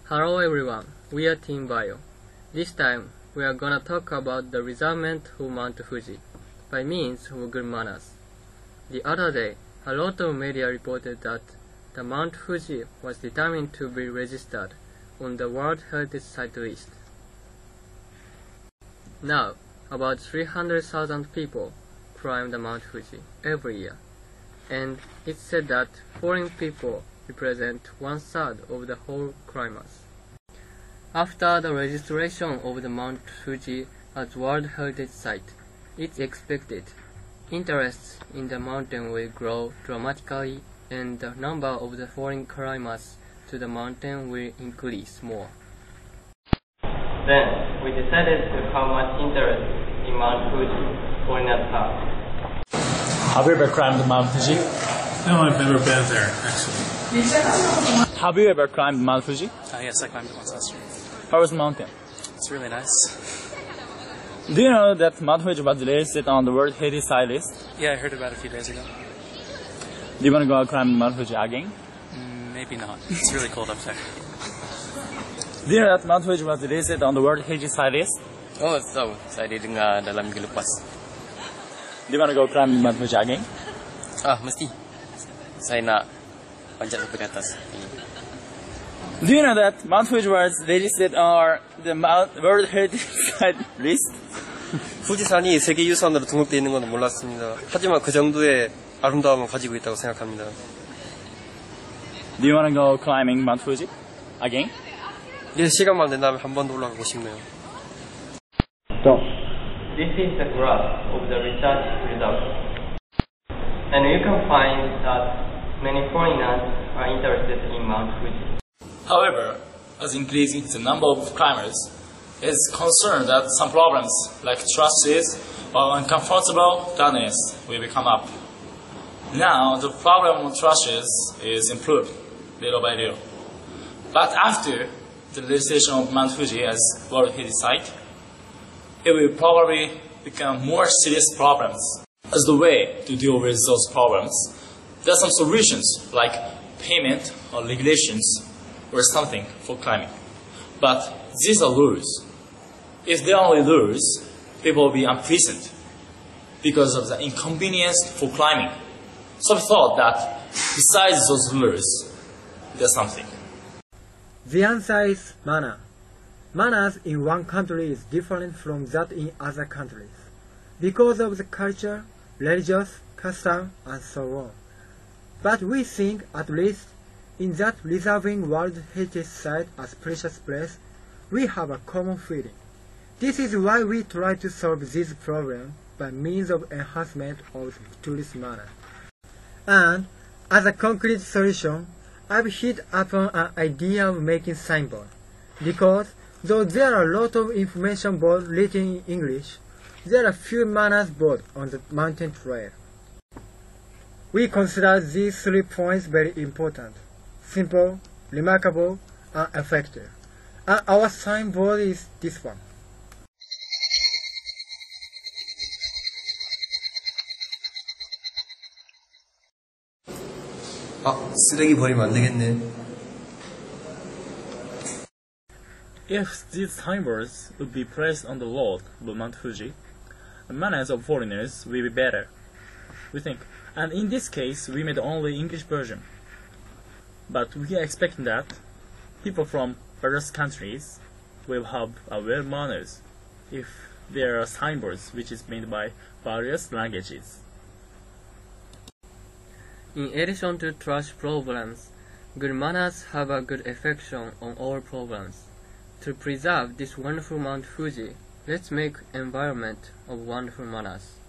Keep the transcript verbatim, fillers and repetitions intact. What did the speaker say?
Hello everyone, we are Team Bio. This time, we are gonna talk about the reservement of Mount Fuji by means of good manners. The other day, a lot of media reported that the Mount Fuji was determined to be registered on the World Heritage Site list. Now, about three hundred thousand people climb the Mount Fuji every year, and it's said that foreign people represent one-third of the whole climbers. After the registration of the Mount Fuji as World Heritage Site, it's expected interest in the mountain will grow dramatically and the number of the foreign climbers to the mountain will increase more. Then, we decided to how much interest in Mount Fuji foreigners have. Have you ever climbed Mount Fuji? No, I've never been there, actually. Have you ever climbed Mount Fuji? Uh, yes, I climbed it once last year. How was the mountain? It's really nice. Do you know that Mount Fuji was listed on the World Heritage Site list? Yeah, I heard about it a few days ago. Do you want to go climb Mount Fuji again? Mm, maybe not. It's really cold up there. Do you know that Mount Fuji was listed on the World Heritage Site list? Oh, so saya didengar dalam minggu lepas. Do you want to go climb Mount Fuji again? Ah, mesti. Saya nak panjat sampai ke atas. Do you know that Mount Fuji was listed on the Mount World Heritage Site list? 富士山이 세계유산으로 등록되어 있는 건 몰랐습니다. 하지만 그 정도의 아름다움을 가지고 있다고 생각합니다. Do you want to go climbing Mount Fuji again? 예, 시간만 된다면 한 번 더 올라가고 싶네요. Stop. This is the graph of the research results. And you can find that many foreigners are interested in Mount Fuji. However, as increasing the number of climbers, is concerned that some problems like trusses or uncomfortable darkness will become up. Now, the problem of trusses is improved little by little. But after the registration of Mount Fuji as World Heritage Site, it will probably become more serious problems. As the way to deal with those problems, there are some solutions like payment or regulations or something for climbing. But these are rules. If they are only rules, people will be unpleasant because of the inconvenience for climbing. So we thought that besides those rules, there's something. The answer is manner. Manners in one country is different from that in other countries because of the culture, religious, custom, and so on. But we think, at least, in that reserving World Heritage Site as precious place, we have a common feeling. This is why we try to solve this problem by means of enhancement of tourist manner. And, as a concrete solution, I've hit upon an idea of making signboard, because though there are a lot of information boards written in English, there are few manners boards on the mountain trail. We consider these three points very important: simple, remarkable, and effective. And our signboard is this one. 아, 쓰레기 버리면 안 되겠네. If these signboards would be placed on the road of Mount Fuji, the manners of foreigners will be better, we think. And in this case, we made only English version. But we are expecting that people from various countries will have uh, well manners if there are signboards which is made by various languages. In addition to trash problems, good manners have a good effect on all problems. To preserve this wonderful Mount Fuji, let's make environment of wonderful manners.